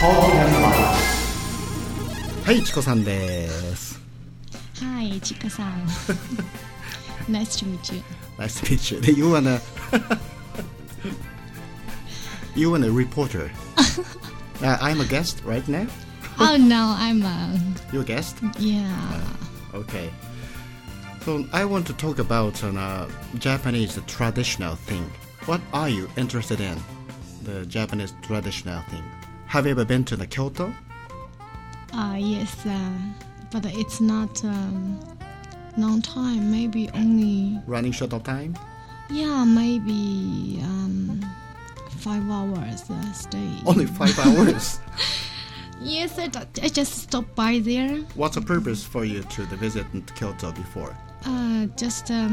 はい、チコさんです。 Hi, チコさん。Nice to meet you. Nice to meet you. You wanna you wanna reporter. I'm a guest right now. Oh no, I'm You're a guest? Yeah. Okay. So I want to talk about Japanese traditional thing. What are you interested in? The Japanese traditional thing. Have you ever been to the Kyoto? Yes, but it's not long time. Maybe only. Running short of time? Yeah, maybe 5 hours stay. Only 5 hours? Yes, I just stopped by there. What's the purpose for you to visit Kyoto before? Just I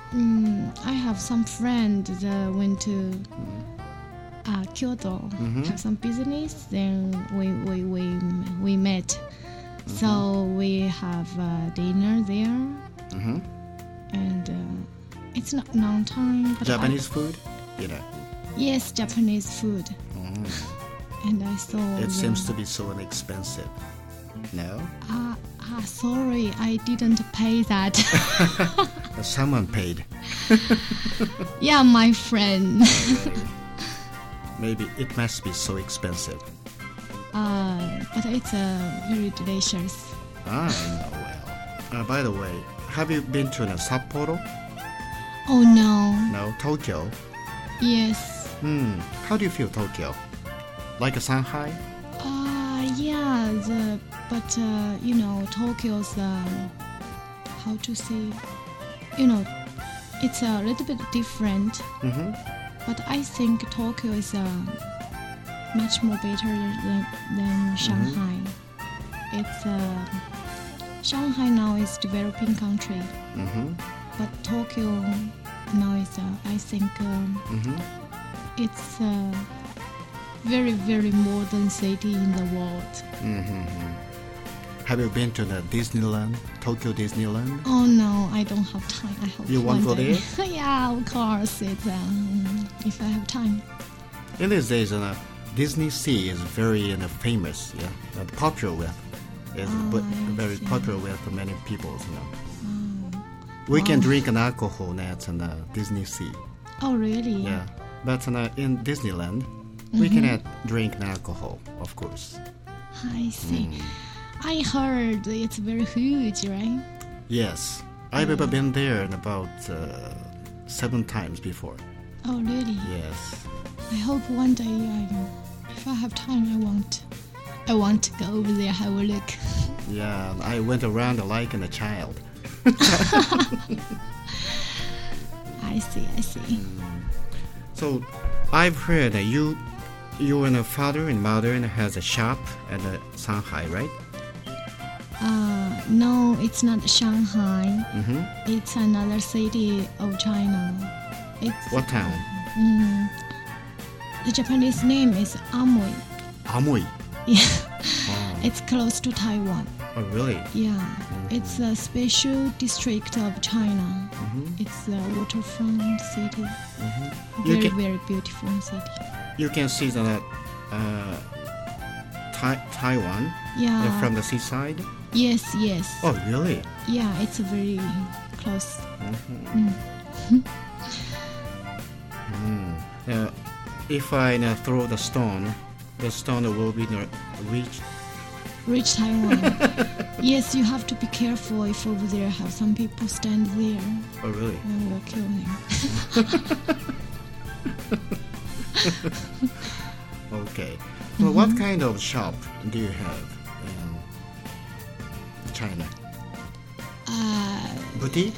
have some friend that went to Kyoto, have some business. Then we met, so we have dinner there, and it's not long time. But Japanese food, you know. Yes, Japanese food. And I saw. It seems to be so inexpensive. No? Sorry, I didn't pay that. Someone paid. Yeah, my friend. Maybe it must be so expensive. But it's very delicious. Well. By the way, have you been to Sapporo? Oh no. No, Tokyo. Yes. How do you feel Tokyo? Like a Shanghai? Yeah. But you know, Tokyo's how to say? You know, it's a little bit different. But I think Tokyo is much more better than Shanghai. It's Shanghai now is developing country, but Tokyo now is I think it's a very very modern city in the world. Have you been to the Disneyland, Tokyo Disneyland? Oh no, I don't have time. I hope you want to go there? Yeah, of course. It's if I have time. In these days, Disney Sea is very famous, popular with. It's very popular with many people. We can drink an alcohol at Disney Sea. Oh really? Yeah, but in Disneyland, we cannot drink alcohol, of course. I see. I heard it's very huge, right? Yes. I've ever been there about 7 times before. Oh, really? Yes. I hope one day, if I have time, I want to go over there, have a look. Yeah, I went around like a child. I see. So, I've heard that you and a father and mother and has a shop at Shanghai, right? No, it's not Shanghai. It's another city of China. What town? The Japanese name is Amoy. Amoy? Yeah. It's close to Taiwan. Oh, really? Yeah. It's a special district of China. It's a waterfront city. Very beautiful city. You can see that Taiwan from the seaside? Yes. Oh, really? Yeah, it's very close. If I throw the stone will be reach Taiwan. Yes, you have to be careful if over there have some people stand there. Oh, really? And will kill him. Okay. So what kind of shop do you have in China? Boutique?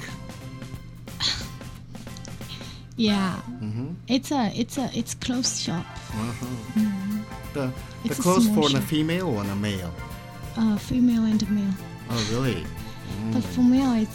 Yeah. It's clothes shop. The clothes for the female or the male? Female and male. Oh, really? But for male, it's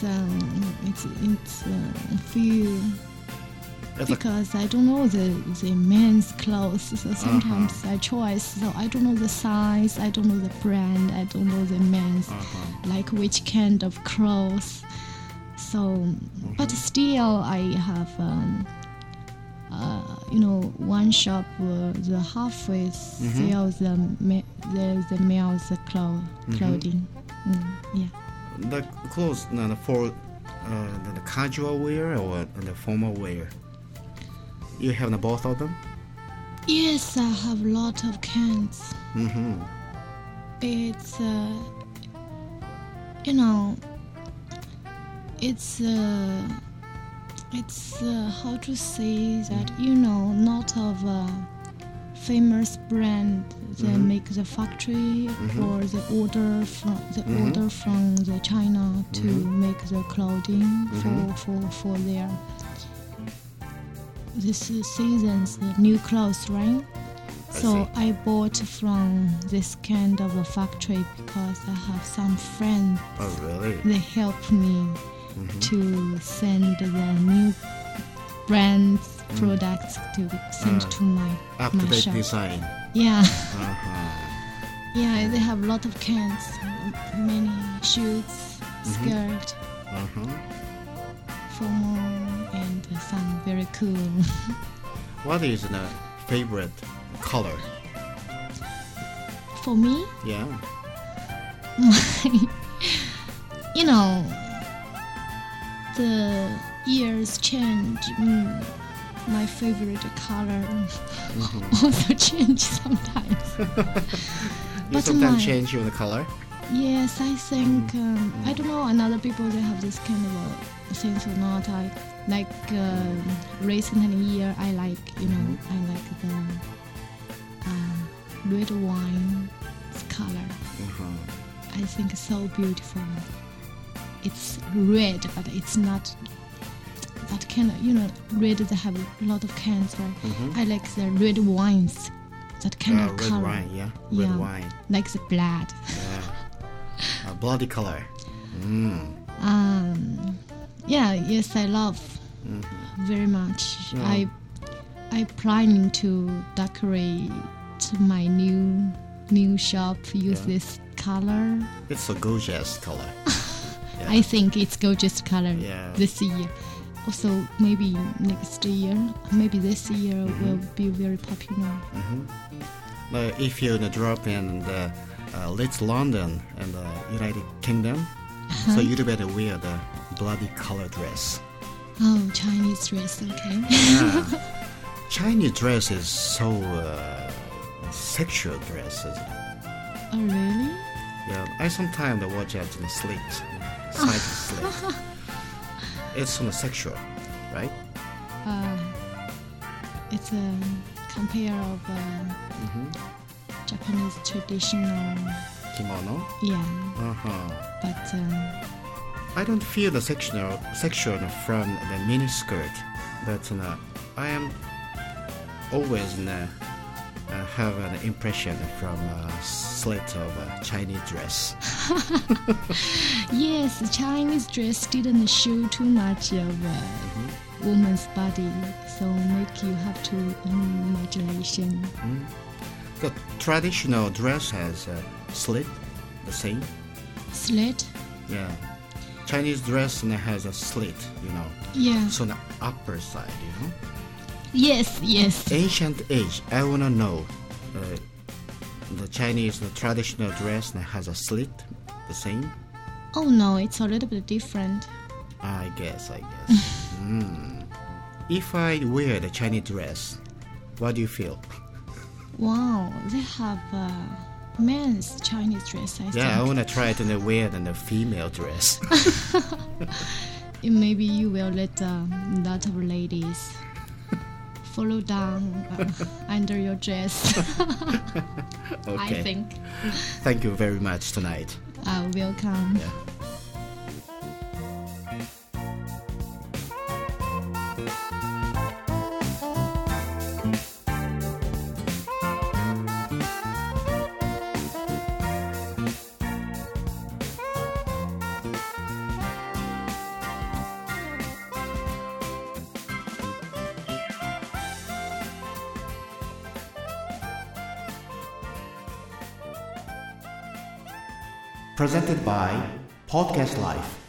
few. Because I don't know the men's clothes, so sometimes I choose. So I don't know the size, I don't know the brand, I don't know the men's, like which kind of clothes. So, but still I have one shop the halfway sells the male's clothing. Yeah. The clothes for the casual wear or the formal wear? You have both of them? Yes, I have a lot of cans. Mm-hmm. It's it's how to say that, not of a famous brand that make the factory or the order from the China to make the clothing for their this season's new clothes, right? So I bought from this kind of a factory because I have some friends. Oh, really? They help me to send the new brands products to send to my up-to-date shop. design. Yeah. Yeah, they have a lot of cans, many shirts, skirt, formal, and some very cool. What is the favorite color? For me, Yeah. The years change. My favorite color also change sometimes. You sometimes change your color? Yes, I think I don't know. Another people they have this kind of a sense or not. I like recent year. I like I like the red wine color. I think it's so beautiful. It's red, but it's not that kind of, red that have a lot of cans, right? I like the red wines, that kind of red color. Wine, yeah. Red wine. Like the blood. Yeah. Bloody color. Yes, I love very much. I planning to decorate my new shop, use this color. It's a gorgeous color. Yeah. I think it's gorgeous color this year. Also, maybe next year, maybe this year will be very popular. But if you drop in the Leeds, London, and the United Kingdom, so you'd better wear the bloody color dress. Oh, Chinese dress, okay. Yeah. Chinese dress is so sexual dress, isn't it? Oh, really? Yeah, I sometimes watch it in the slit, side slit. It's sexual, right? It's a compare of Japanese traditional Kimono? Yeah. But I don't feel the sexual from the miniskirt, but I am always have an impression from a slit of a Chinese dress. Yes, the Chinese dress didn't show too much of a woman's body, so make you have to imagination. The traditional dress has a slit, the same. Slit? Yeah. Chinese dress has a slit, Yeah. So the upper side, Yes. Ancient age, I wanna know. The Chinese traditional dress has a slit, the same. Oh no, it's a little bit different. I guess. If I wear the Chinese dress, what do you feel? Wow, they have men's Chinese dress, I think. Yeah, I wanna try to wear the female dress. Maybe you will let a lot of ladies follow down under your dress. Okay. I think. Thank you very much tonight. Welcome. Yeah. Presented by Podcast Life.